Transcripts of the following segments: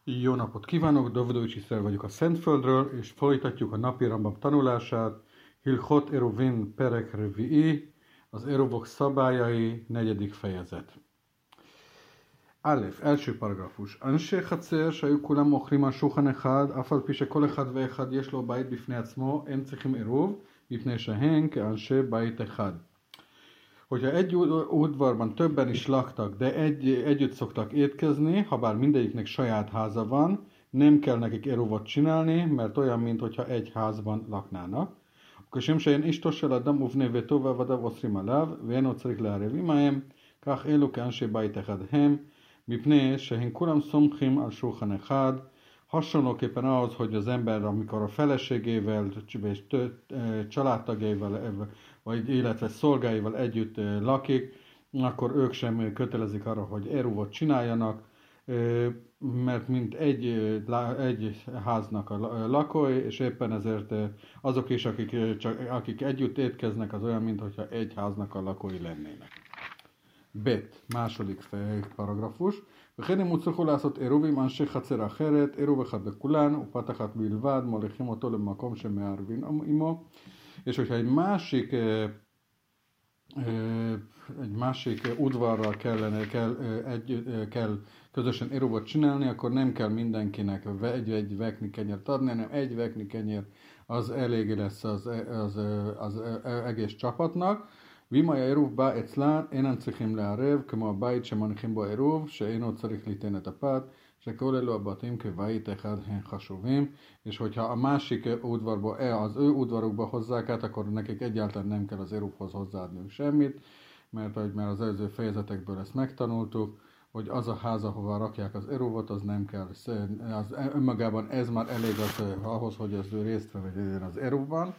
Jó napot kívánok, Davidovich Iszer vagyok a Szentföldről, és folytatjuk a napi Rambam tanulását. Hilchot Eruvin Perek Revi'i, az Eruvok szabályai, 4. fejezet. Alef, első paragrafus. Ansé חצר שהיו כולם אוכלים על שולחן אחד, אף על פי שכל אחד ואחד יש לו בית בפני עצמו, הם צריכים עירוב, מפני שהם כאנשי בית אחד. Hogyha egy udvarban többen is laktak, de együtt szoktak étkezni, ha bár mindegyiknek saját háza van, nem kell nekik eruvot csinálni, mert olyan, mintha egy házban laknának. כשם שאין אשתו של אדם ובני ביתו ועבדיו אוסרים עליו, ואינו צריך לערב עמהם, כך אלו כאנשי bait אחד הם, מפני שהם כולם סומכים על שולחן אחד. Hasonlóképpen ahhoz, hogy az ember, amikor a feleségével, és családtagjaival, vagy illetve szolgáival együtt lakik, akkor ők sem kötelezik arra, hogy eruvot csináljanak, mert mint egy háznak a lakói, és éppen ezért azok is, akik együtt étkeznek, az olyan, mintha egy háznak a lakói lennének. Bet, második paragrafus. וכן הם הוצרכו לעשות עירובים אנשי חצר אחרת, עירוב אחד לכולן, ופת אחת בלבד, מוליכים אותו למקום שמערבים עמו. És hogyha egy másik udvarral kell közösen érúvot csinálni, akkor nem kell mindenkinek egy vekni kenyért adni, hanem egy vekni kenyér az elég lesz az egész csapatnak. ואם היה עירוב בא אצלן, אינן צריכים לערב, כמו הבית שמניחים בו עירוב, שאינו צריך ליתן את הפת, שכל אלו הבתים כבית אחד הם חשובים, és hogyha a másik udvarba, az ő udvarukba hozzák át, akkor nekik egyáltalán nem kell az érúvhoz hozzáadniuk semmit, mert ahogy már az előző fejezetekből ezt megtanultuk, hogy az a ház, ahova rakják az erúvot, az nem kell, az önmagában ez már elég ahhoz, hogy az ő részt vegyen az erúvban.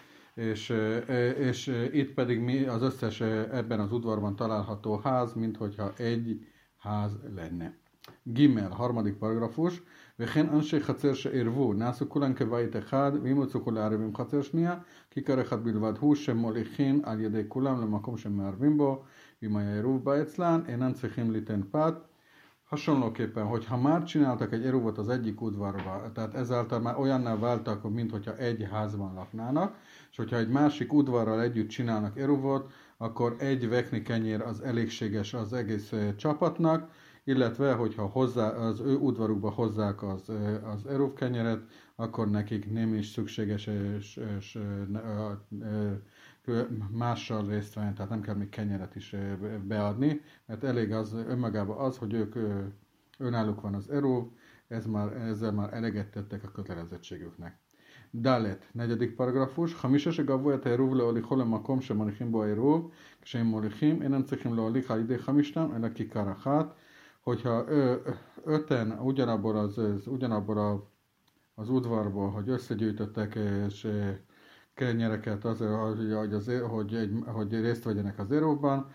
És itt pedig az összes ebben az udvarban található ház, minthogyha egy ház lenne. Gimel, harmadik paragrafus. וכן אנשי חצר שעירבו, נעשו כולם כבית אחד, ואם יצאו לערבים חצר שנייה, כיכר אחד בלבד הוא שמוליכין על ידי כולם למקום שמערבים בו, ואם היה עירוב בא אצלן, אינן צריכים ליתן פת. Hasonlóképpen, hogyha már csináltak egy eruvot az egyik udvarba, tehát ezáltal már olyanná váltak, mintha egy házban laknának, és hogyha egy másik udvarral együtt csinálnak eruvot, akkor egy vekni kenyér az elégséges az egész csapatnak, illetve, hogyha az ő udvarukba hozzák az eruv kenyeret, akkor nekik nem is szükséges mással részt venni, tehát nem kell még kenyeret is beadni, mert elég az önmagában az, hogy ők önálluk van az eruv, ezzel már eleget tettek a kötelezettségüknek. ד' נגדיק פרגרפוש, חמישה שגבו את העירוב להוליכו למקום שמוליכים בו העירוב, כשהם מוליכים אינם צריכים להוליך על ידי חמישתם, אלא כיכר אחת. Hogyha öten ugyanabból az udvarból, hogy összegyűjtöttek és kenyereket azért, hogy részt vegyenek az érúvban,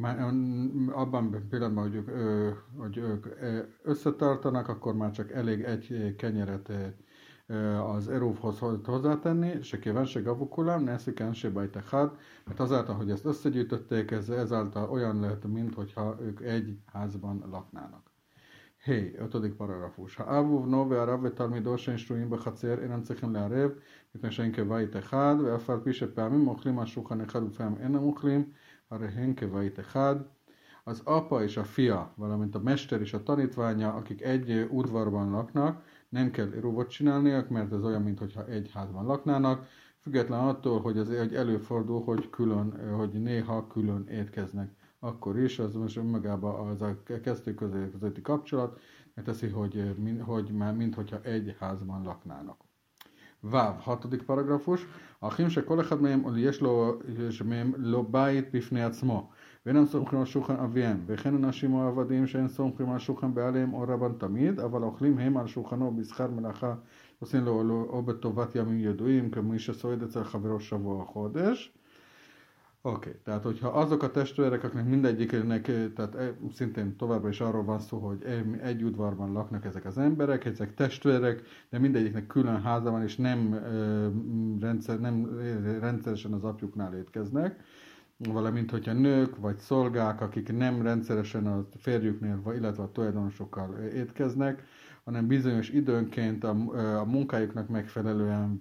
abban pillanatban, hogy ők összetartanak, akkor már csak elég egy kenyeret az erúvhoz hozzátenni, se kíván se gavukulam, neszik se bait echad, mert azáltal, hogy ezt összegyűjtötték, ezáltal olyan lehet, mintha ők egy házban laknának. Hey, 5. paragrafus. האב ובנו והרב ותלמידו שאין שרויים בחצר אינם צריכים לערב, מפני שהם כבית אחד, ואף על פי שפעמים אוכלים על שולחן אחד ופעמים אינם אוכלים, הרי הם כבית אחד. Az apa és a fia, valamint a mester és a tanítványa, akik egy udvarban laknak, nem kell eruvot csinálniak, mert ez olyan, mintha egy házban laknának, független attól, hogy előfordul, hogy néha külön étkeznek. Akkor is, az most önmagában az a kettő közötti kapcsolat, mert teszi, hogy már minthogyha egy házban laknának. Váv, 6. paragrafus. האחים שכל אחד מהם יש לו בית בפני עצמו, ואינם סומכים על שולחן אביהם, וכן אנשים או עבדים שאין סומכים על שולחן בעליהם או רבן תמיד, אבל אוכלים הם על שולחנו בשכר מלאכה, עושים לו או בטובת ימים ידועים, כמי שסועד אצל חברו שבוע או חודש. Oké, tehát hogyha azok a testvérek, akiknek mindegyiknek, tehát szintén továbbra is arról van szó, hogy egy udvarban laknak ezek az emberek, ezek testvérek, de mindegyiknek külön háza van, és nem rendszeresen az apjuknál étkeznek, valamint hogyha nők vagy szolgák, akik nem rendszeresen a férjüknél, illetve a tulajdonosokkal étkeznek, hanem bizonyos időnként a munkájuknak megfelelően,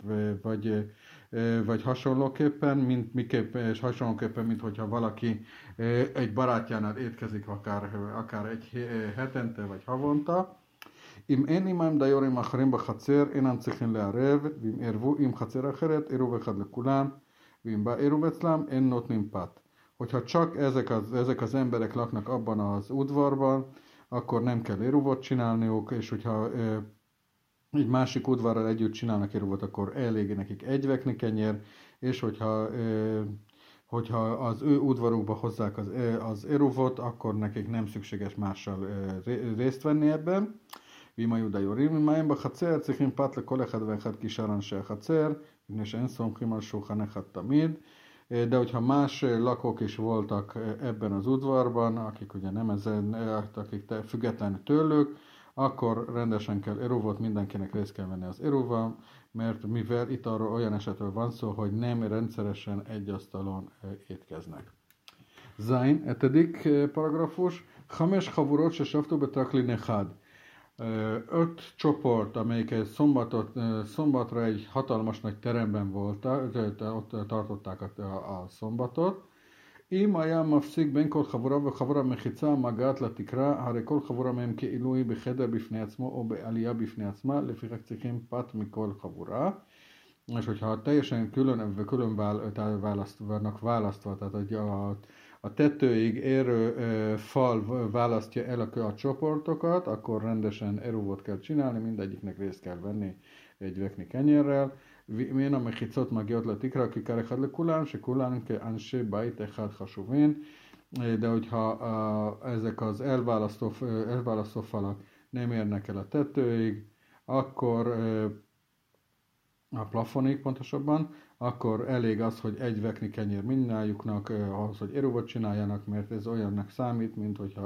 vagy hasonlóképpen, és hasonlóképpen, mint hogyha valaki egy barátjánál étkezik akár egy hetente vagy havonta. אם אין עמם דיורים אחרים בחצר, אינם צריכים לערב, ואם ערבו עם חצר אחרת, עירוב אחד לכולם, ואם בא עירוב אצלם, אין נותנים פת. Hogyha csak ezek az emberek laknak abban az udvarban, akkor nem kell éruvot csinálniuk, és hogyha egy másik udvarral együtt csinálnak éruvot, akkor elég nekik egy vekni kenyér, és hogyha az ő udvarukba hozzák az éruvot, akkor nekik nem szükséges mással részt venni ebben. ואם היו דיורים עמהם בחצר, צריכים פת לכל אחד ואחד כשאר אנשי החצר, מפני שאין סומכים על שולחן אחד תמיד. De hogyha más lakók is voltak ebben az udvarban, akik ugye nem akik független tőlük, akkor rendesen kell eruvot, mindenkinek részt kell venni az eruval, mert mivel itt arról olyan esetről van szó, hogy nem rendszeresen egy asztalon étkeznek. Zain, 7. paragrafus, Hames chavurot se savtu betraklin echad. 5 csoport, amelyek szombatra egy hatalmas nagy teremben voltak, ott tartották a szombatot. אם היה מפסיק בין כל חבורה וחבורה מחיצה מגעת לתקרה, הרי כל חבורה מהם כאילו היא בחדר בפני עצמו או בעלייה בפני עצמה, לפיכך צריכים פת מכל חבורה. És hogyha teljesen külön vannak választva, tehát a tetőig érő fal választja el a csoportokat, akkor rendesen eruvot kell csinálni, mindegyiknek részt kell venni egy vekni kenyérrel. מן המחיצות מגיעות לתקרה כיכר אחד לכולם, שכולם כאנשי בית אחד חשובים, de hogyha ezek az elválasztó falak nem érnek el a tetőig, akkor a plafonig pontosabban, akkor elég az, hogy egy vekni kenyér mindnyájuknak ahhoz, hogy eruvot csináljanak, mert ez olyannak számít, mint hogyha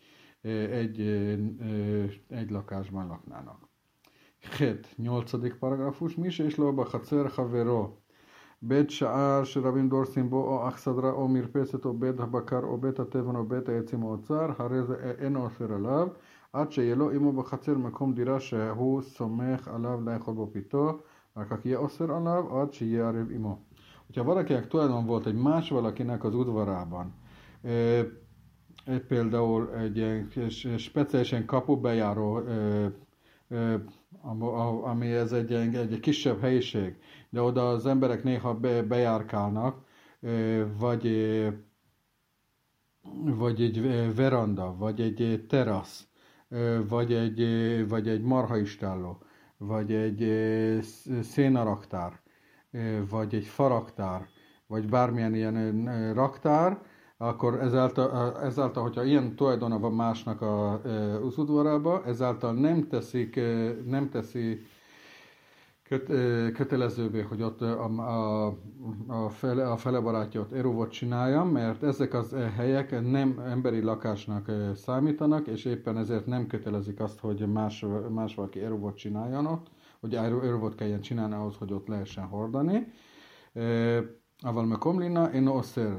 egy lakásban laknának. 8. paragrafus, מי שיש לו בחצר חברו בית שער שרבים דורסים בו או אכסדרה או מרפסת או בית הבקר או בית התבן או בית העצים או אוצר, הרי זה אינו אוסר עליו עד שיהיה לו עמו בחצר מקום דירה שהוא סומך עליו לאכול בו פיתו, רק יהיה אוסר עליו עד שיהיה ערב עמו. Hogyha valakinek tulajdon volt egy más valakinek az udvarában, például egy speciálisan kapubejáró, ami ez egy kisebb helyiség, de oda az emberek néha bejárkálnak, vagy egy veranda, vagy egy terasz, vagy egy marhaistálló, vagy egy szénaraktár, vagy egy faraktár, vagy bármilyen ilyen raktár, akkor ezáltal, hogyha ilyen tulajdona van másnak az udvarába, ezáltal nem teszi kötelezővé, hogy ott a fele barátja ott eruvot csinálja, mert ezek az helyek nem emberi lakásnak számítanak, és éppen ezért nem kötelezik azt, hogy más valaki eruvot csináljon ott, hogy eruvot kelljen csinálni ahhoz, hogy ott lehessen hordani. אבל מקום לינה אינו אוסר,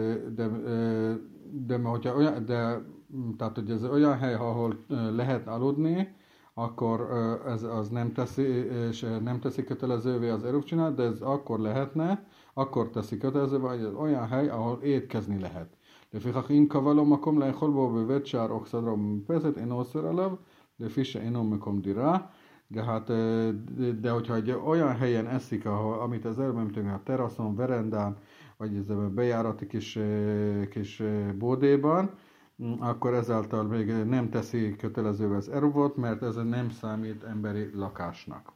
tehát hogy ez olyan hely, ahol lehet aludni, akkor az nem teszi kötelezővé az eruv csinál, de ez akkor lehetne, akkor teszi kötelezővé, hogy ez olyan hely, ahol étkezni lehet. לפיכך אם קבע לו מקום לאכול בו בבית שער או אכסדרה או במרפסת, אינו אוסר עליו, לפי שאינו מקום דירה. De hogyha egy olyan helyen eszik, amit az előbb említettünk, a teraszon, verendán, vagy ez a bejárati kis bódéban, akkor ezáltal még nem teszi kötelezővé az eruvot, mert ez nem számít emberi lakásnak.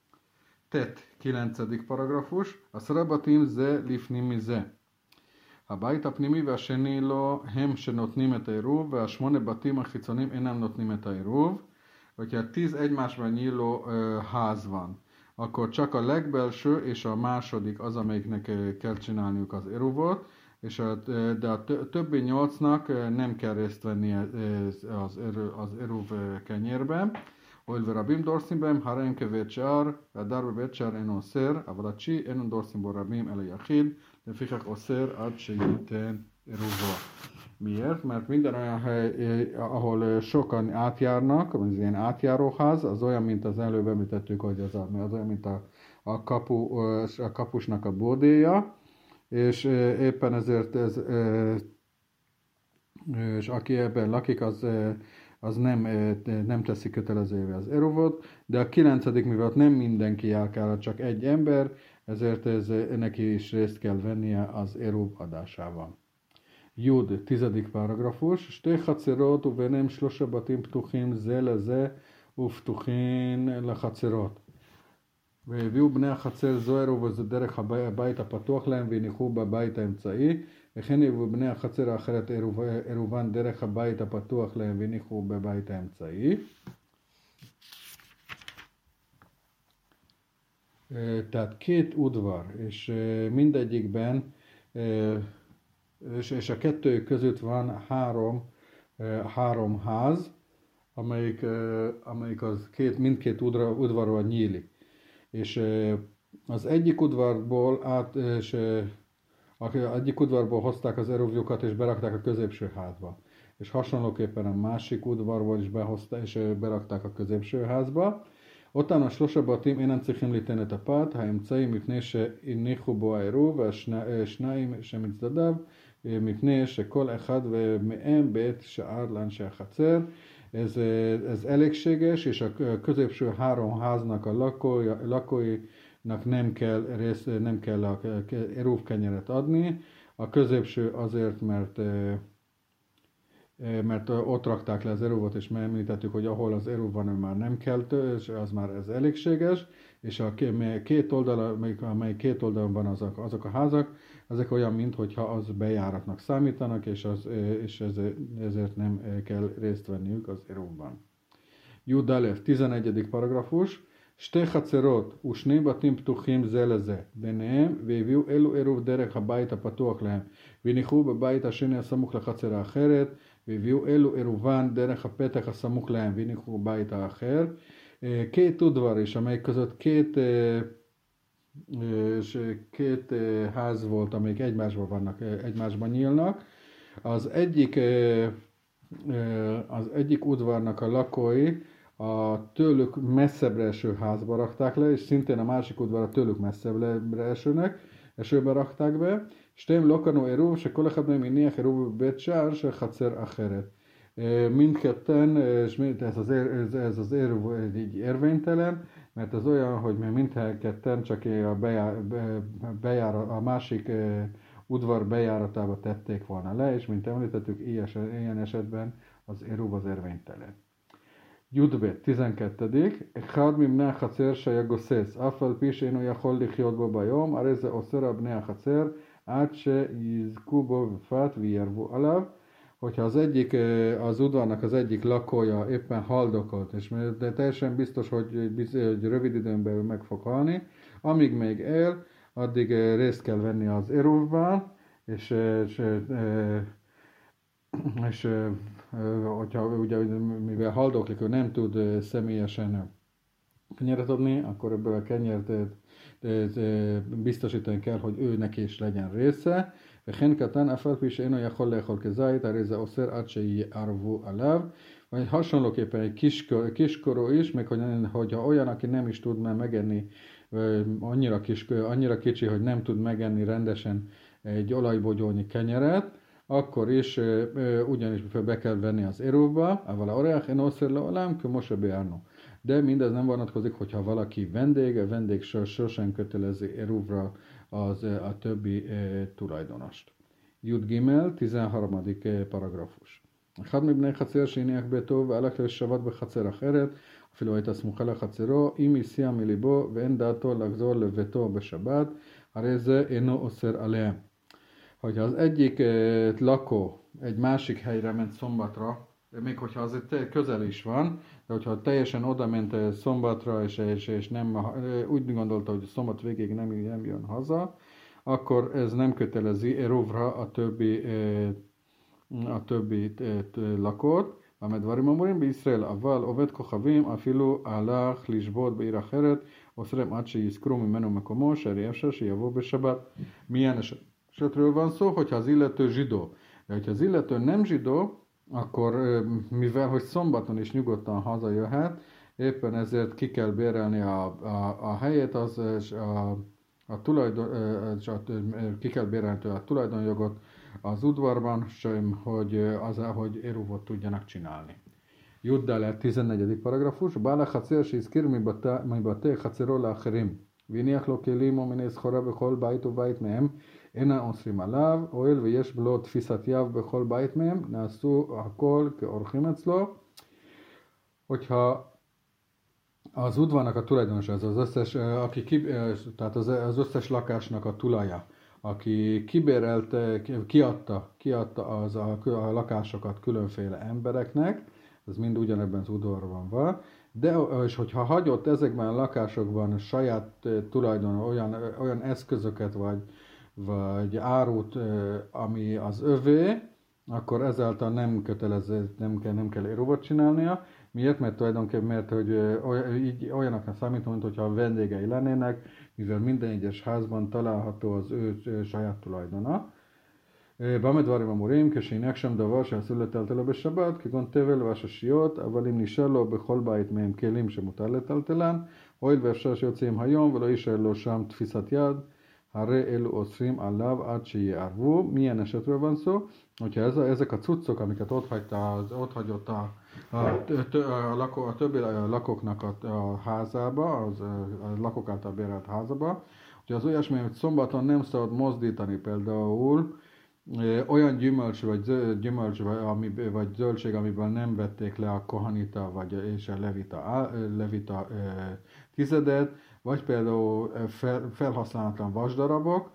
9. paragrafus, a szarabatim ze lifnimi ze. הבית הפנימי והשני לא הם שנותנים את העירוב, והשמונה בתים החיצוניים אינם נותנים את העירוב. Hogyha 10 egymásban nyíló ház van, akkor csak a legbelső és a második az, amelyiknek kell csinálniuk az eruvot, de a többi 8-nak nem kell részt venni az eruv kenyérben. הואיל ורבים דורסים בהם, הרי הם כבית שער, והדר בבית שער אינו אוסר, אבל התשיעי אין דורסים בו רבים אלא יחיד, לפיכך אוסר עד שייתן עירובו. Miért? Mert minden olyan hely, ahol sokan átjárnak, az ilyen átjáróház, az olyan, mint az előbb említettük, hogy az olyan, mint a kapusnak a bordéja, és éppen ezért és aki ebben lakik, az nem teszi kötelezővé az eruvot, de a 9. mivel nem mindenki járkál, csak egy ember, ezért neki is részt kell vennie az eruv adásában. Jud, 10. paragrafus, שתי חצרות וביניהם 3 בתים פתוחים זה לזה ופתוחים לחצרות. והביאו בני החצר זו עירוב וזה דרך הבית הפתוח להם והניחו בבית האמצעי, וכן הביאו בני החצר האחרת עירובן דרך הבית הפתוח להם והניחו בבית האמצעי. Tehát két udvar, és mindegyikben és a kettő között van három ház, amelyik az mindkét udvarról nyílik. És az egyik udvarból egyik udvarból hozták az eruvjukat és berakták a középső házba. És hasonlóképpen a másik udvarból is behozták és berakták a középső házba. אותם 3 בתים אינם צריכים ליתן את הפת, האמצעי מפני שהניחו בו העירוב, והשניים שמצדדיו מפני שכל אחד מהם בעת שער לאנשי החצר. Ez elégséges, és a középső 3 háznak a lakóinak nem kell a eruv kenyeret adni. A középső azért, mert ott rakták le az eruvot, és említettük, hogy ahol az eruv van, már nem kell, és az már ez elégséges, és a két oldal, amely két oldalon van azok a házak, ezek olyan, mintha az bejáratnak számítanak, és ezért nem kell részt venniük az eruvban. Jud Alef, 11. paragrafus, שתי חצרות ושני בתים פתוחים זה לזה ביניהם והביאו אלו עירוב דרך הבית הפתוח להם והניחו בבית השני הסמוך לחצר האחרת והביאו אלו עירובן דרך הפתח הסמוך להם והניחו בבית האחר. Két udvar is, amely között két ház volt, amelyik egymásban nyílnak. Az egyik udvarnak a lakói a tőlük messzebbre eső házba rakták le, és szintén a másik udvar a tőlük messzebbre esőbe rakták be. שתיהם לא קנו עירוב, שכל אחד מהם הניח עירוב בבית שער של חצר אחרת. Mindketten, és ez az érv így érvénytelen, mert ez olyan, hogy mindketten csak a másik udvar bejáratába tették volna le, és mint említettük, ilyen esetben az éruv az érvénytelen. Judbet, 12. אחד מבני החצר שהיה גוסס, אף על פי שאינו יכול לחיות בו ביום, הרי זה אוסר על בני החצר עד שיזכו בו בפת וירבו עליו. Hogyha az udvarnak az egyik lakója éppen haldokolt, de teljesen biztos, hogy rövid időn belül meg fog halni, amíg még él, addig részt kell venni az eruvban, és hogyha ugye, mivel haldoklik, ő nem tud személyesen kenyeret adni, akkor ebből a kenyeret biztosítani kell, hogy ő neki is legyen része. וכן קטן אף על פי שאינו יכול לאכול כזית, הרי זה אוסר עד שיערבו עליו. Vagy hasonlóképpen egy kiskorú is, még hogyha olyan, aki nem is tud már megenni, annyira kicsi, hogy nem tud megenni rendesen egy olajbogyónyi kenyeret, akkor is ugyanis be kell venni az eruvba, ával a oreach en oszer leolám, kö mose beárno. De mindez nem vonatkozik, hogyha valaki vendég sosem kötelezi eruvra a többi tulajdonost. Jud Gimel, 13. paragrafus. אחד מבני חצר שהניח ביתו והלך לשבת בחצר אחרת, אפילו הייתה סמוכה לחצרו, אם הסיע מליבו ואין דעתו לחזור לביתו בשבת, הרי זה אינו אוסר עליהם. Hogyha az egyik lakó egy másik helyre ment szombatra, még hogyha az közel is van, de hogyha teljesen oda ment szombatra, és nem, úgy gondolta, hogy a szombat végéig nem jön haza, akkor ez nem kötelezi eruvra a többi lakót. המדברים אומרים בישראל, אבל עובד כוכבים אפילו הלך לשבות בעיר אחרת, אוסרם עד שיזכרו ממנו מקומו, שהרי אפשר שיבוא בשבת. esetről van szó, hogyha az illető zsidó. De hogyha az illető nem zsidó, akkor mivel, hogy szombaton is nyugodtan hazajöhet, éppen ezért ki kell bérelni a helyét, ki kell bérelni a tulajdonjogot az udvarban, hogy éruvot tudjanak csinálni. Juddel 14. paragrafus, Bála Hacer שהזכיר מבתי חצרו לאחרים, והניח לו כלים או מיני סחורה בכל בית ובית מהם, אינה אוסרים עליו, הואיל ויש לו תפיסת יב בכל בית מהם, נעשו הכל כאורחים אצלו. Hogyha az udvarnak a tulajdonos, ez az összes, tehát az összes lakásnak a tulaja, aki kiadta a lakásokat különféle embereknek, ez mind ugyanebben az udvarban van, de és hogyha hagyott ezekben a lakásokban saját tulajdon olyan eszközöket vagy árut, ami az övé, akkor ezáltal nem kötelező, nem kell éruvot csinálnia. Miért? Mert tulajdonképpen, hogy olyanoknak számít, mint hogyha a vendégei lennének, mivel minden egyes házban található az ő saját tulajdona. במה דברים אמורים? כשהניח שם דבר שאסור לטלטל לו בשבת, כגון תבל והשושיות, אבל אם נשאר לו בכל בית מהם כלים שמותר לטלטלן, הואיל ואפשר שיוצאים היום ולא יישאר לו שם תפיסת יד, הרי אלו אוסרים עליו עד שיערבו. Milyen esetről van szó? Hogyha ezek a cuccok, amiket ott hagyott a többi lakóknak a házába, a lakók által bérelt házába, hogy az olyasmi, hogy szombaton nem szabad mozdítani, például olyan gyümölcs vagy zöldség, amiből nem vették le a kohanita és a levita tizedet, vagy például felhasználatlan vasdarabok,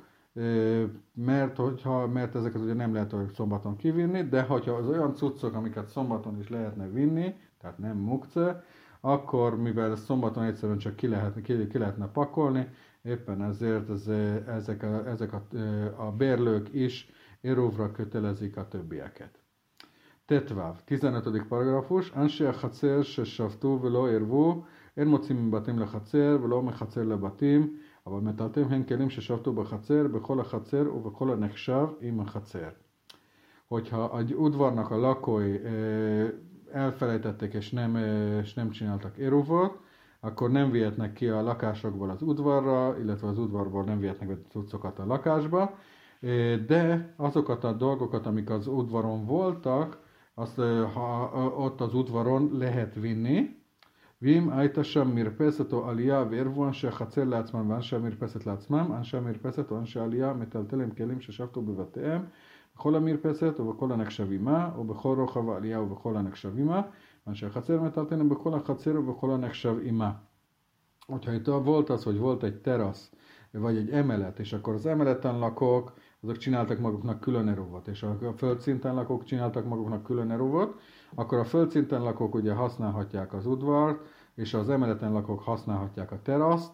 mert ezeket ugye nem lehet szombaton kivinni, de hogyha az olyan cuccok, amiket szombaton is lehetne vinni, tehát nem mukce, akkor mivel szombaton egyszerűen csak ki lehetne pakolni, éppen ezért ezek a bérlők is éruvra kötelezik a többieket. Tetváv, 15. paragrafus, אנשי החצר ששבתו ולא ערבו, אין מוצאים מבתים לחצר ולא מחצר לבתים, אבל מטלטלים הם כלים ששבתו בחצר, בכל החצר ובכל הנחשב עם החצר. Hogyha egy udvarnak a lakói elfelejtették és nem csináltak éruvot, akkor nem vihetnek ki a lakásokból az udvarra, illetve az udvarból nem vihetnek be cuccokat a lakásba, de azokat a dolgokat, amik az udvaron voltak, azt ott az udvaron lehet vinni. ואם הייתה שם מרפסת או עלייה וערבו אנשי החצר לעצמם ואנשי המרפסת לעצמם, אנשי המרפסת או אנשי העלייה מטלטלים כלים ששבתו בבתיהם, בכל המרפסת ובכל הנחשב עמה, ובכל רוחב העלייה ובכל הנחשב עמה, אנשי החצר מטלטלים בכל החצר ובכל הנחשב עמה. Hogyha itt volt az, hogy volt egy terasz, vagy egy emelet, és akkor az emeleten lakók, azok csináltak maguknak külön eruvot, és a földszinten lakók csináltak maguknak külön eruvot, akkor a földszinten lakók ugye használhatják az udvart, és az emeleten lakók használhatják a teraszt.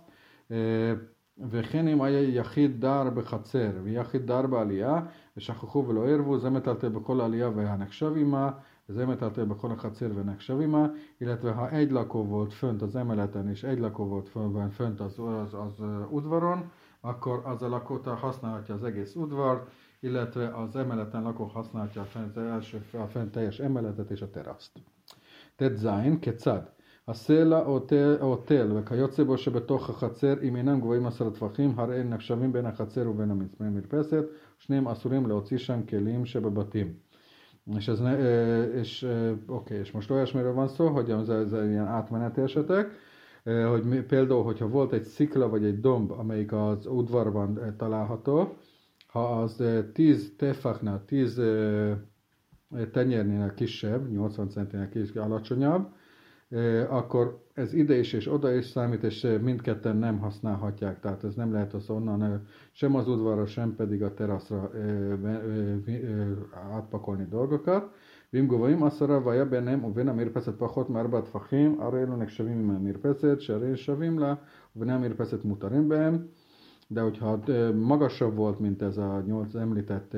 וכן אם היה יחיד דר בחצר ויחיד דר בעלייה ושכחו ולא ערבו, זה מטלטל בכל העלייה והנחשב עמה, זה מטלטל בכל החצר ונחשב עמה, illetve ha egy lakó volt fönt az emeleten és egy lakó volt fönt az udvaron, akkor az a lakó használhatja az egész udvart, illetve az emeleten lakó használhatja a fent teljes emeletet és a teraszt. תז, כיצד? הסלע או תל וכיוצא בו שבתוך החצר, אם אינם גבוהים 10 טפחים, הרי הם נחשבים בין החצר ובין המרפסת, שניהם אסורים להוציא שם כלים שבבתים. És most olyasmiről van szó, hogy ez ilyen átmeneti esetek, hogy például, hogyha volt egy szikla vagy egy domb, amelyik az udvarban található, ha az 10 tefachnál, 10 tenyérnél kisebb, 80 centinél alacsonyabb, akkor ez ide is és oda is számít, és mindketten nem használhatják, tehát ez nem lehet az onnan sem az udvarra, sem pedig a teraszra átpakolni dolgokat. ואם גבוהים 10 והיה ביניהם ובין המרפסת פחות מ4 טפחים, הרי אלו נחשבים עם המרפסת, שהרי שווים לה, ובני המרפסת מותרים בהם. De hogyha magasabb volt, mint ez a 8 említett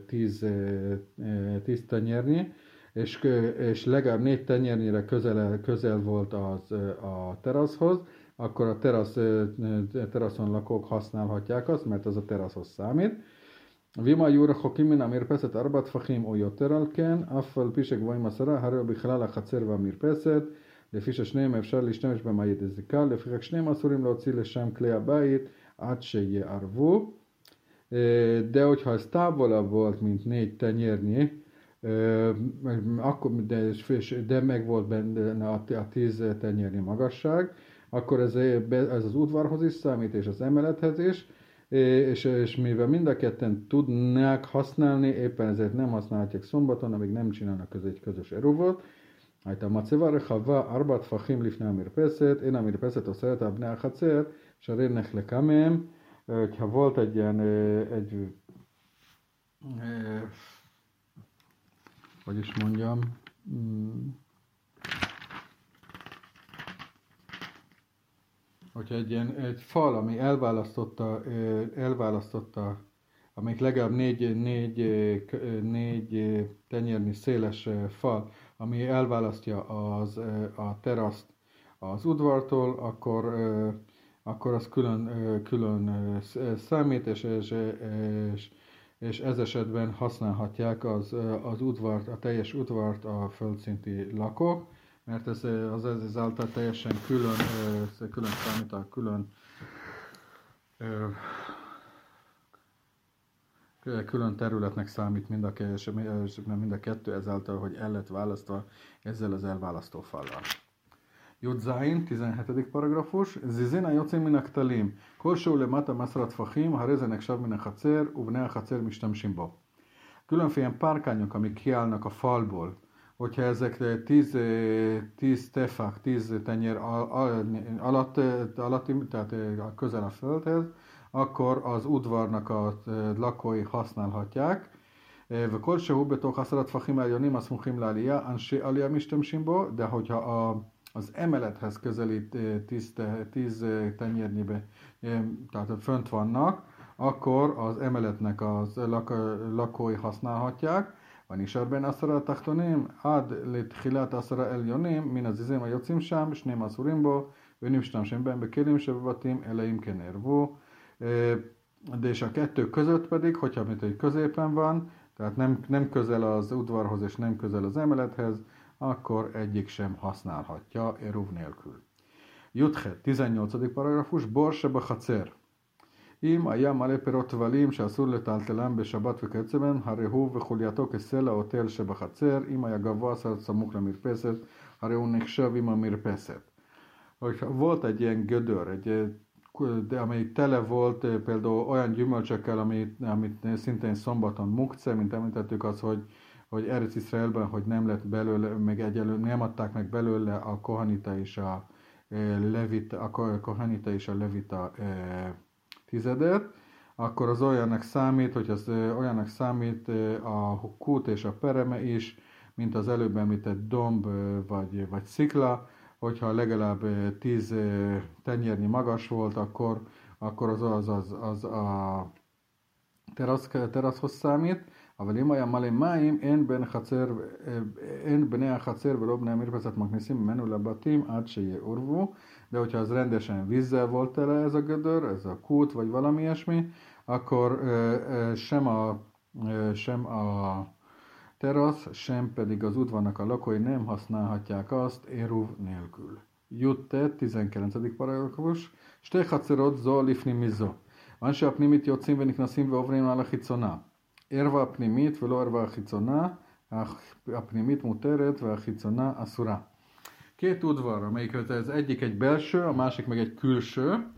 10 tenyérnyi, és legalább 4 tenyérnyire közel volt a teraszhoz, akkor a teraszon lakók használhatják azt, mert az a teraszhoz számít. Vima Jura Hokimin המרפסת 4 טפחים או יותר על כן, אף על פי שגבוהים 10, הרי הוא בכלל החצר והמרפסת, לפי ששניהם אפשר להשתמש בהם על ידי זיקה, לפיכך שניהם אסורים להוציא לשם כלי הבית עד שיערבו. De hogyha ez távolabb volt, mint 4 tenyérnyi, akkor, de meg volt benne a 10 tenyérnyi magasság, akkor ez az udvarhoz is számít, és az emelethez is, és mivel mind a ketten tudnák használni, éppen ezért nem használhatják szombaton, amíg nem csinálnak egy közös eruvot. הייתה מצבה רחבה 4 טפחים לפני המרפסת, אין המרפסת אוסרת על בני החצר, שהרי נחלקה mém, ha volt egy ilyen, hogy is mondjam, hogyha egy fal, ami elválasztotta, amelyik legalább 4 tenyérnyi széles fal, ami elválasztja a teraszt az udvartól, akkor az külön számít, és ez esetben használhatják az udvart, a teljes udvart a földszinti lakók, mert ez ezáltal teljesen külön számít, külön területnek számít mind a kettő, ezáltal, hogy el lett választva ezzel az elválasztó fallal. י"ז, 17. פרגרפוש, זיזין היוצאים מן הכתלים, כלשהו למטה 10 טפחים, הרי זה נחשב מן החצר, ובני החצר משתמשים בו. Különféle párkányok, amik kiállnak a falból, hogyha ezek 10 tefák, 10 tenyér alatti, tehát közel a földhez, akkor az udvarnak a lakói használhatják. וכלשהו בתוך 10 טפחים העליונים הסמוכים לעלייה, אנשי עלייה משתמשים בו, de hogyha az emelethez közelít 10 tenyérnyibe, tehát fönt vannak, akkor az emeletnek az lakói használhatják. ונשאר בין 10 התחתונים עד לתחילת 10 העליונים מן הזיזים היוצאים שם, שניהם אסורים בו, ואין משתמשים בהם בכלים שבבתים, אלא אם כן ערבו. De és a kettő között pedig, hogyha mint egy középen van, tehát nem közel az udvarhoz és nem közel az emelethez, akkor egyik sem használhatja eruv nélkül. Juthet, 18. paragrafus, bor שבחצר. אם היה מלא פירות טבלים שאסור לטלטלם בשבת וכיוצא בהם, הרי הוא וחולייתו כסלע או תל שבחצר, אם היה גבוה סמוך למרפסת, הרי הוא נחשב עם המרפסת. Volt egy ilyen gödör, amely tele volt például olyan gyümölcsökkel, amit szintén szombaton mukce, mint említettük az, hogy Eretz Iszraelben, hogy nem lett belőle, meg egyelőre nem adták meg belőle a kohanita és a levita tizedet, akkor az olyannak számít, hogy az olyannak számít a kút és a pereme is, mint az előbb említett domb vagy szikla, hogyha legalább 10 tenyérnyi magas volt, akkor az a teraszhoz számít. אבל אם היה מלא מים, אין בני החצר ולא בני המרפסת מכניסים ממנו לבתים עד שיעורבו. De hogyha az rendesen vízzel volt tele ez a gödör, ez a kút, vagy valami ilyesmi, akkor sem a terasz, sem pedig az udvarnak a lakói nem használhatják azt éruv nélkül. Jutte, 19. paragrafus, שתי חצרות זו לפנים מזו. אנשי הפנימית יוצאים ונכנסים ועוברים על החיצונה. ערווה הפנימית ולא ערווה החיצונה, הפנימית מותרת והחיצונה אסורה. Két udvar, amelyik az egyik egy belső, a másik meg egy külső,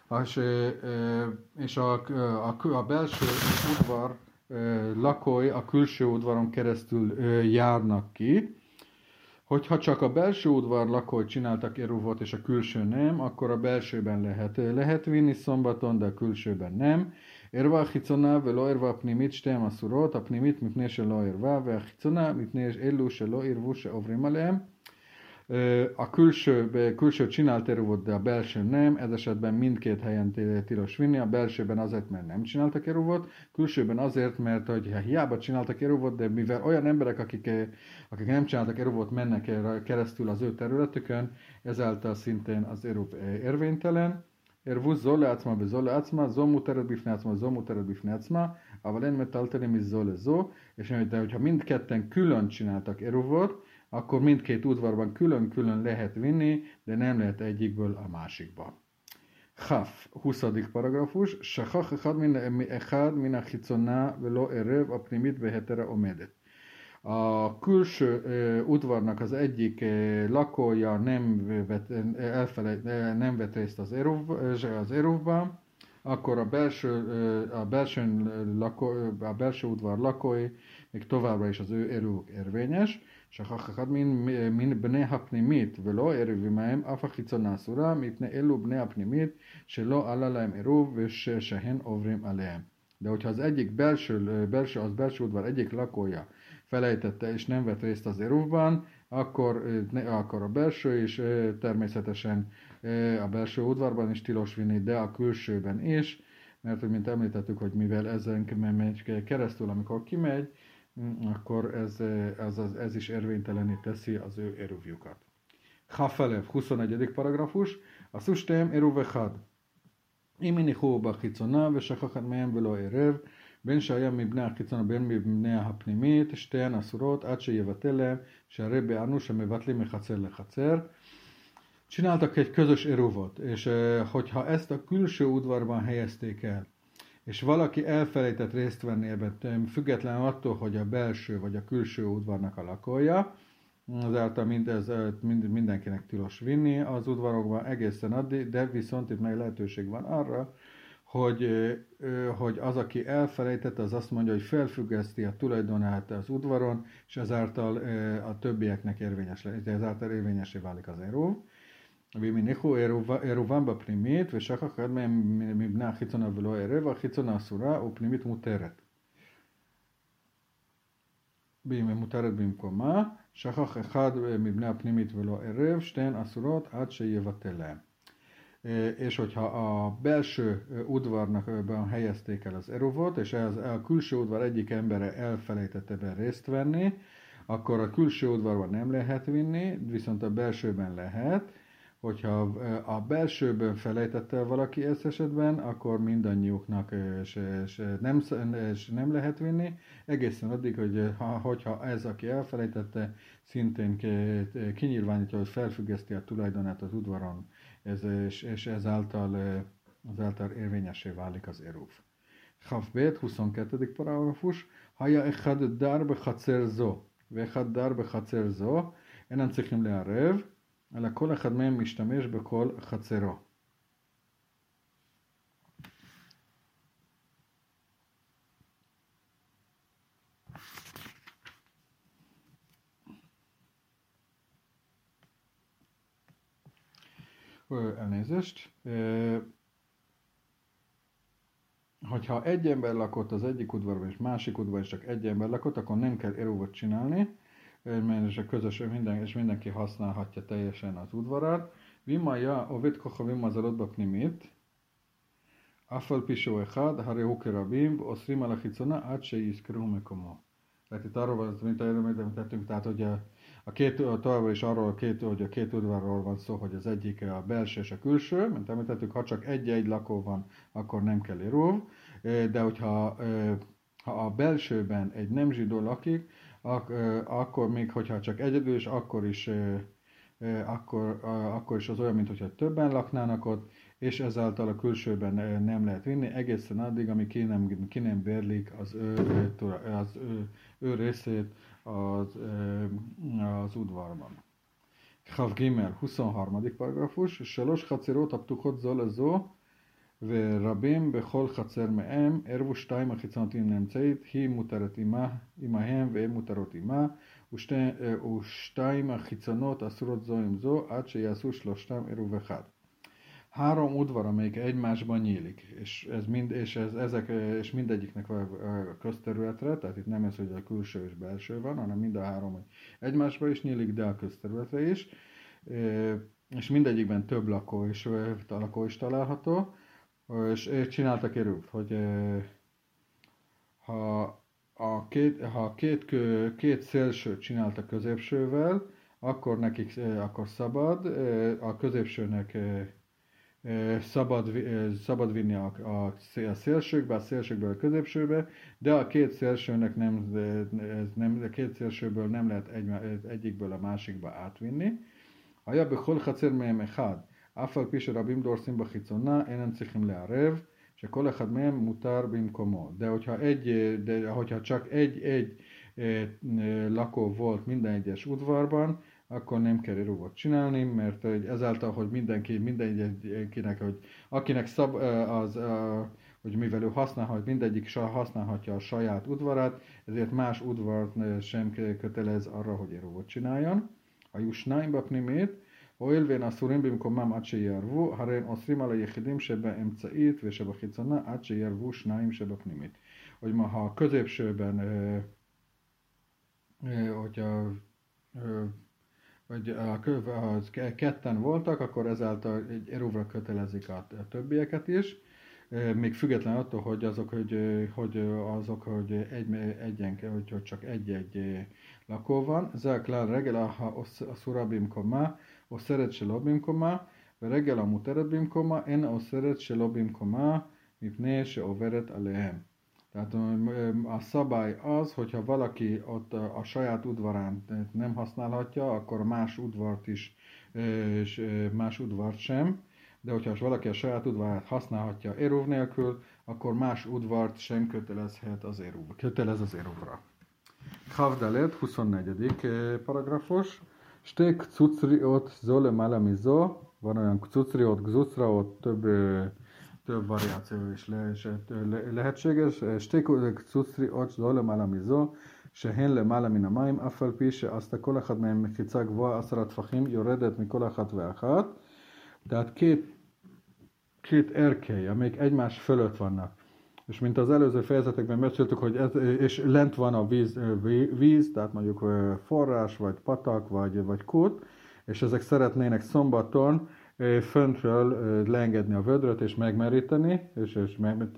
és a belső udvar lakói a külső udvaron keresztül járnak ki. Hogyha csak a belső udvar lakói csináltak eruvot, és a külső nem, akkor a belsőben lehet vinni szombaton, de a külsőben nem. ערווה החיצונה ולא ערווה הפנימית שתיהן אסורות, הפנימית מפני שלא ערווה והחיצונה מפני אלו שלא ערבו שעוברים עליהם. A külső csinált eruvot, de a belső nem, ez esetben mindkét helyen tilos vinni, a belsőben azért, mert nem csináltak eruvot, külsőben azért, mert hogy hiába csináltak eruvot, de mivel olyan emberek, akik nem csináltak eruvot, mennek keresztül az ő területükön, ezáltal szintén az eruv érvénytelen. ערבו זו לעצמה וזו לעצמה, זו muteret בפני עצמה, זו muteret בפני עצמה, אבל אין מטלטלים מזו lezó, és hogyha mindketten külön csináltak eruvot, akkor mindkét udvarban külön-külön lehet vinni, de nem lehet egyikből a másikba. Chaf, 20. paragrafus, שכח אחד מן החיצונה ולא ערב הפנימית בהיתרה עומדת. A külső udvarnak az egyik lakója nem vett részt az eruvban, akkor a belső udvar lakói még továbbra is az ő erők érvényes, שכח אחד מן בני הפנימית ולא ערב עמהם אף החיצונה אסורה מפני אלו בני הפנימית שלא עלה להם עירוב ושהן עוברים עליהם. De hogyha az egyik belső udvar egyik lakója felejtette és nem vett részt az eruvban, akkor a belső is természetesen a belső udvarban is tilos vinni, de a külsőben is, mert mint említettük, hogy mivel ezen megy keresztül, amikor kimegy, akkor ez is érvénytelené teszi az ő eruvjukat. Chafalev, 21. paragrafus, a szustém eruv echad. אם הניחו בחיצונה ושכח מהם ולא ערב, בין שהיה מבני החיצונה בין מבני הפנימית, שתיהן אסורות עד שיבטל להם, שהרי בענו שמבטלים מחצר לחצר. Csináltak egy közös eruvot, és hogyha ezt a külső udvarban helyezték el, és valaki elfelejtett részt venni ebben, függetlenül attól, hogy a belső vagy a külső udvarnak a lakója, azáltal mindenkinek tilos vinni az udvarokban egészen addig, de viszont itt meg lehetőség van arra, hogy az, aki elfelejtette, az azt mondja, hogy felfüggeszti a tulajdonát az udvaron, és ezáltal a többieknek ezáltal érvényesé válik az eruv. ואם הניחו עירובם בפנימית ושכח אחד מהם מבני החיצונה ולא ערב, החיצונה אסורה ופנימית מותרת. מותרת במקומה, שכח אחד מבני הפנימית ולא ערב, שתיהן אסורות עד שיבטל להם. És hogyha a belső udvarnak helyezték el az eruvot, és a külső udvar egyik embere elfelejtette ebben részt venni, akkor a külső udvarban nem lehet vinni, viszont a belsőben lehet. Hogyha a belsőben felejtette el valaki ezt esetben, akkor mindannyiuknak nem lehet vinni, egészen addig, hogyha ez, aki elfelejtette, szintén kinyilvánítja, hogy felfüggeszti a tulajdonát az udvaron, és ezáltal érvényessé válik az eruv. Chavbét, 22. paragrafus, Haja echad dar bechatzer zo, vechad dar bechatzer zo, אינם צריכים לערב, אלא כל אחד מהם משתמש בכל חצרו. Elnézést. Hogyha egy ember lakott az egyik udvarban és másik udvarban és csak egy ember lakott, akkor nem kell eruvot csinálni, és mindenki használhatja teljesen az udvarát. Vimaja ovid kochavim az arodba pnimit, afal pisó echad, hare hukerabim, oszrim ala chicona, át se iszkeru mekomo. Tehát itt arról van, mint említettünk, tehát hogy továbbra is arról, hogy a két udvarról van szó, hogy az egyik a belső és a külső, mint említettük, ha csak egy lakó van, akkor nem kell eruv, de hogyha a belsőben egy nem zsidó lakik, akkor még, hogyha csak egyedül, és akkor is az olyan, mintha többen laknának ott, és ezáltal a külsőben nem lehet vinni, egészen addig, amíg ki nem bérlik az ő részét az udvarban. Chav Gimel, 23. paragrafus, Selos חצרות הפתוחות זו לזו, ורבים בכל חצר מהם, ערבו שתיים החיצונתיים לאמצעית, היא מותרת עמהם והן מותרות עמה, ושתיים החיצונות אסורות זו עם זו, עד שיעשו שלושתם עירוב אחד. Három udvar, amelyik egymásban nyílik, és mindegyiknek a közterületre, tehát itt nem ez, hogy a külső és belső van, hanem mind a három egymásban is nyílik, de a közterületre is, és mindegyikben több lakó is található, és csináltak eruv, hogy ha két szélsőt csináltak középsővel, akkor nekik akkor szabad, a középsőnek szabad vinni a szélsőkbe, a szélsőkből a középsőbe, de a két szélsőnek a két szélsőből nem lehet egyikből a másikba átvinni. היה בכל חצר מהם אחד, אף על פי שרבים דורסים בחיצונה, אינם צריכים לערב, שכל אחד מהם מותר במקומו. De hogyha csak egy lakó volt minden egyes udvarban, akkor nem kell érúvot csinálni, mert ezáltal, hogy mindenkinek, hogy akinek hogy mivel ő mindegyik használhatja a saját udvarát, ezért más udvart sem kötelez arra, hogy érúvot csináljon. היו שניים בפנימית, הואיל ואין אסורים במקומם עד שיערבו, הרי הם אוסרים על היחידים שבאמצעית ושבחיצונה עד שיערבו שניים שבפנימית. Hogy ma ha a középsőben, hogy ketten voltak, akkor ezáltal egy erúvra kötelezik a többieket is, még független attól, hogy hogy csak egy lakó van. זה הכלל רגל האסורה במקומה, אוסרת שלא במקומה, ורגל המותרת במקומה, אין האוסרת שלא במקומה, מפני שעוברת עליהם. Tehát a szabály az, hogyha valaki ott a saját udvarán nem használhatja, akkor más udvart sem, de hogyha valaki a saját udvarát használhatja érúv nélkül, akkor más udvart sem kötelez az érúvra. Khavdalet, 24. paragrafus. Sté kcucriot zó lemala mizó, van olyan kcucriot, gzucraot, több variáció is lehetséges. Sté kcucriot zó lemala mizó, שהן למעלה מן המים, אף על פי שעשתה כל אחד מהם מחיצה גבוהה 10 טפחים, יורדת מכל אחת ואחת. Tehát két erkély, amelyek egymás fölött vannak. És mint az előző fejezetekben beszéltük, hogy és lent van a víz, tehát mondjuk forrás, vagy patak, vagy kút, és ezek szeretnének szombaton föntről leengedni a vödröt és megmeríteni, és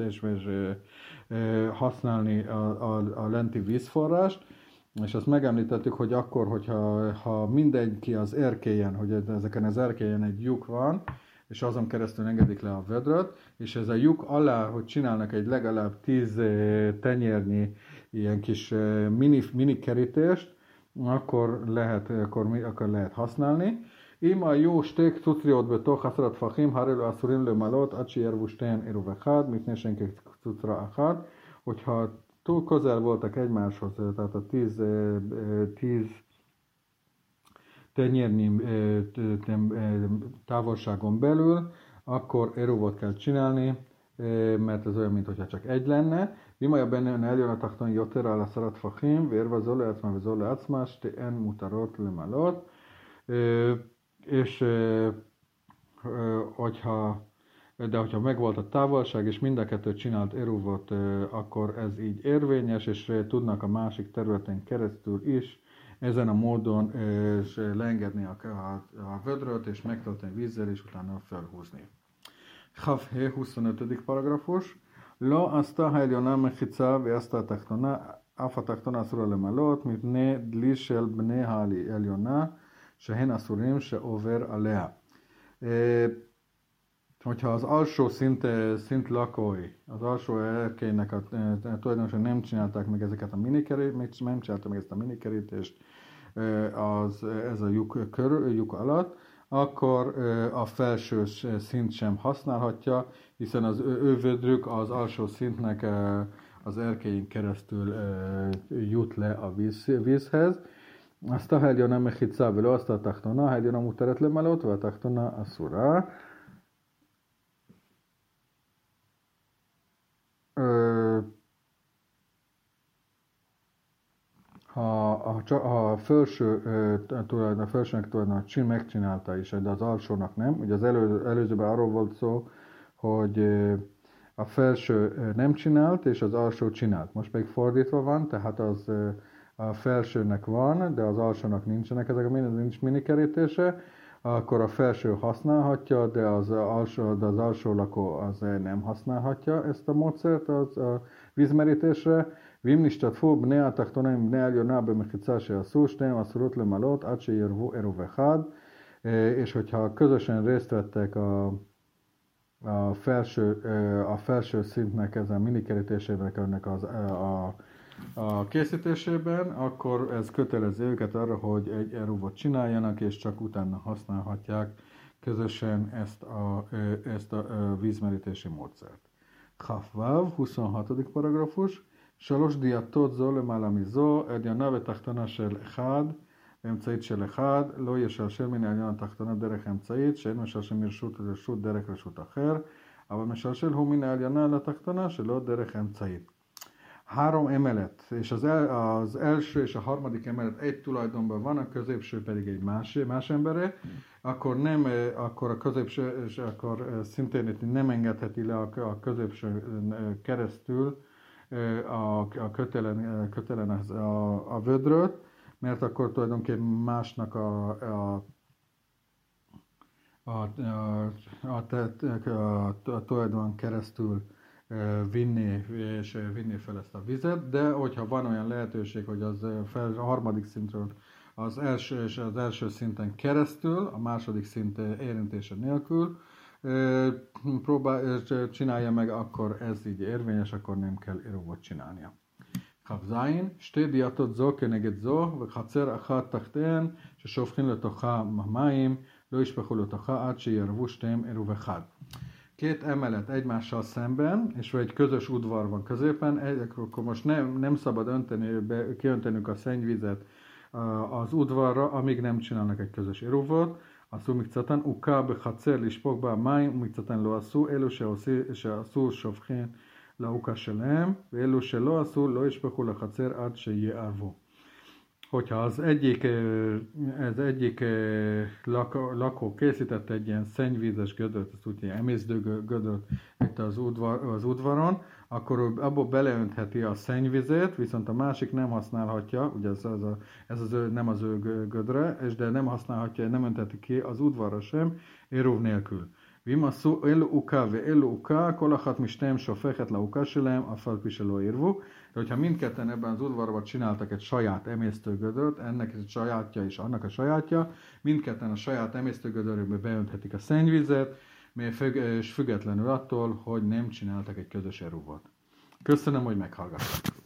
használni a lenti vízforrást. És azt megemlítettük, hogy akkor, hogyha mindenki az erkélyen, hogy ezeken az erkélyen egy lyuk van, és azon keresztül engedik le a vödröt, és ez a lyuk alá, hogy csinálnak egy legalább 10 tenyérnyi ilyen kis mini kerítést, akkor lehet használni. אם היו שתי קצוצריות בתוך 10 טפחים, הרי לא אסורים למלות עד שיערבו שתיהן עירוב אחד, מפני שהן כקצוצרה אחת. Hogyha túl közel voltak egymáshoz, tehát a 10 tenyérnyi távolságon belül, akkor eruvot kell csinálni, mert ez olyan, mintha csak egy lenne. אם היה ביניהן העליון התחתון יותר על 10 טפחים, וערבה זו לעצמה וזו לעצמה, שתיהן מותרות למלות. És hogyha megvolt a távolság, és mind a kettő csinált eruvot, akkor ez így érvényes, és tudnak a másik területen keresztül is ezen a módon leengedni a vödröt, és megtölteni vízzel, és utána felhúzni. Khavhe, 25. paragrafus. לא עשתה העליונה מחיצה ועשתה התחתונה, אף התחתונה אסורה למלות, מפני דלי של בני העליונה, שהן אסורים שעובר עליה. Hogyha az alsó szint lakói, az alsó erkélynek tulajdonosan nem csinálták meg ezeket a nem csinálták meg ezt a minikerítést ez a lyuk alatt, akkor a felső szint sem használhatja, hiszen az ő vödrük az alsó szintnek az erkélyen keresztül jut le a vízhez. azt a העליונה מחיצה ולא עשתה תחתונה, העליונה מותרת למלות והתחתונה אסורה. Ha a felsőnek tulajdonképpen megcsinálta is, de az alsónak nem. Ugye az előzőben arról volt szó, hogy a felső nem csinált, és az alsó csinált. Most pedig fordítva van, tehát a felsőnek van, de az alsónak nincsenek ezek nincs minikerítése, akkor a felső használhatja, de az alsó lakó az nem használhatja ezt a módszert a vízmerítésre. ואם נשתתפו בני התחתונים בני העליונה במחיצה שעשו, שניהם אסורות למלות עד שיערבו עירוב אחד, és hogyha közösen részt vettek a felső szintnek ezen minikerítésének ennek a készítésében, akkor ez kötelezi őket arra, hogy egy eruvot csináljanak, és csak utána használhatják közösen ezt a vízmerítési módszert. Chafvav, 26. paragrafus. שלוש דיאטות זו למעלה מזו, עליונה ותחתונה של אחד, ואמצעית של אחד, לא ישלשל מן העליון התחתונה דרך אמצעית, שאין משלשל מרשות לרשות דרך רשות אחר, אבל משלשל הוא מן העליונה לתחתונה שלא דרך אמצעית. Három emelet, és az első és a harmadik emelet egy tulajdonban van, a középső pedig egy más embere, akkor a középső, és akkor szintén nem engedheti le a középső keresztül a kötelen a vödröt, mert akkor tulajdonképpen másnak a tulajdon keresztül vinni fel ezt a vizet, de hogyha van olyan lehetőség, hogy a harmadik szintről az első szinten keresztül, a második szint érintése nélkül csinálja meg, akkor ez így érvényes, akkor nem kell eruvot csinálnia. כ"ז, שתי דיאטות זו כנגד זו, וחצר אחת תחתיהן, ששופכים לתוכה מים, לא ישפכו לתוכה עד שיערבו שתיהם עירוב אחד. Két emelet egymással szemben, és egy közös udvar van középen, akkor most nem szabad kiöntenünk a szennyvizet az udvarra, amíg nem csinálnak egy közös eruvot. עשו מקצתן עוקה בחצר לשפוך בה מים, ומקצתן לא עשו, אלו שעשו שופכין לעוקה שלהם, ואלו שלא עשו לא ישפכו לחצר עד שיערבו. Hogyha az egyik lakó készítette egy ilyen szennyvízes gödört, ezt úgy emésztő gödört itt az udvaron, akkor abból beleöntheti a szennyvizet, viszont a másik nem használhatja, ugye nem az ő gödre, de nem használhatja, nem öntheti ki az udvarra sem, éruv nélkül. ואם עשו אלו עוקה ואלו עוקה, כל אחת משתיהם שופכת לעוקה שלהם, אף על פי שלא עירבו. De hogyha mindketten ebben az udvarban csináltak egy saját emésztőgödört, ennek egy sajátja és annak a sajátja, mindketten a saját emésztőgödörükbe beönthetik a szennyvizet, és függetlenül attól, hogy nem csináltak egy közös eruvot. Köszönöm, hogy meghallgattak.